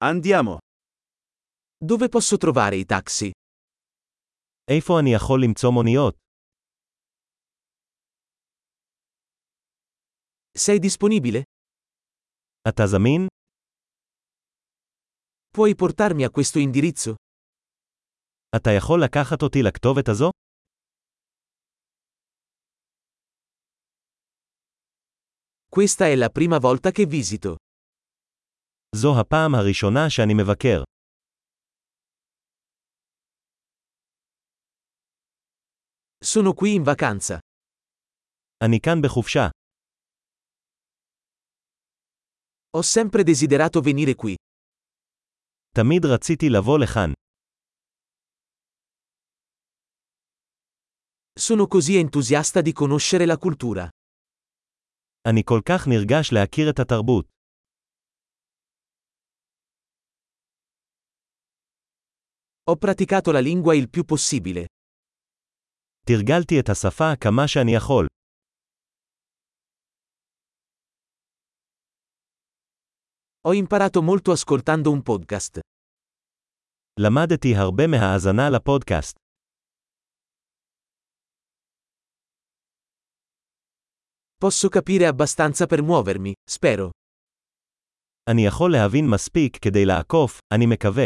Andiamo. Dove posso trovare i taxi? איפה אני יכול למצוא מוניות? Sei disponibile? אתה זמין? Puoi portarmi a questo indirizzo? אתה יכול לקחת אותי לכתובת הזו? Questa è la prima volta che visito. זו הפעם הראשונה שאני מבקר. Sono qui in vacanza. אני כאן בחופשה. Ho sempre desiderato venire qui. תמיד רציתי לבוא לכאן. Sono così entusiasta di conoscere la cultura. אני כל כך נרגש להכיר את התרבות. Ho praticato la lingua il più possibile. תרגלתי את השפה כמה שאני יכול. Ho imparato molto ascoltando un podcast. למדתי הרבה מהאזנה לפודקאסט. Posso capire abbastanza per muovermi, spero. אני יכול להבין מספיק כדי לעקוף, אני מקווה.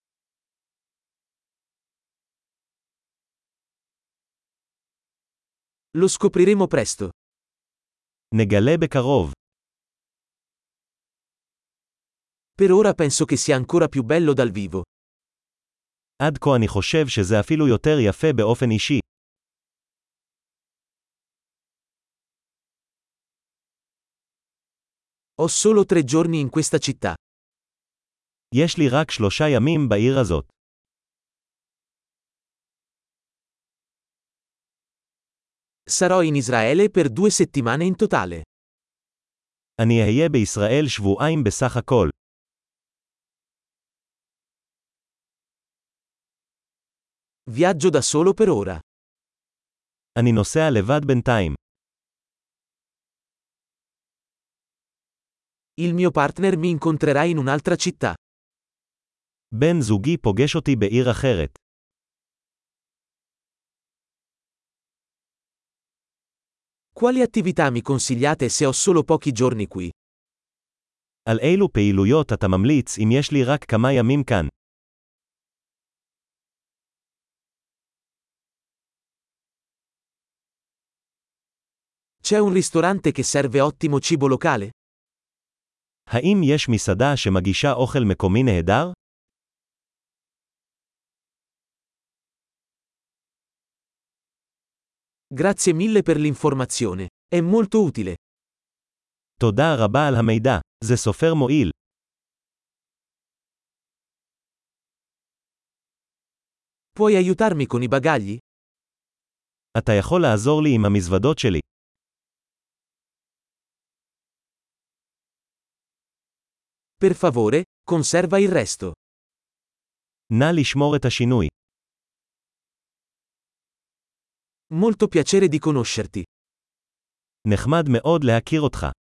Lo scopriremo presto. נגלה בקרוב. Per ora penso che sia ancora più bello dal vivo. עד כה אני חושב שזה אפילו יותר יפה באופן אישי. Ho solo 3 giorni in questa città. יש לי רק 3 ימים בעיר הזאת. Sarò in Israele per 2 settimane in totale. אני אהיה בישראל שבועיים בסך הכל. Viaggio da solo per ora. אני נוסע לבד בינתיים. Il mio partner mi incontrerà in un'altra città. בן זוגי פוגש אותי בעיר אחרת. Quali attività mi consigliate se ho solo pochi giorni qui? על אילו פעילויות אתה ממליץ אם יש לי רק כמה ימים כאן? C'è un ristorante che serve ottimo cibo locale? האם יש מסעדה שמגישה אוכל מקומי נהדר? Grazie mille per l'informazione. È molto utile. תודה רבה על המידע. זה סופר מועיל. Puoi aiutarmi con i bagagli? אתה יכול לעזור לי עם המזוודות שלי. Per favore, conserva il resto. נא לשמור את השינוי. Molto piacere di conoscerti. נחמד מאוד להכיר אותך.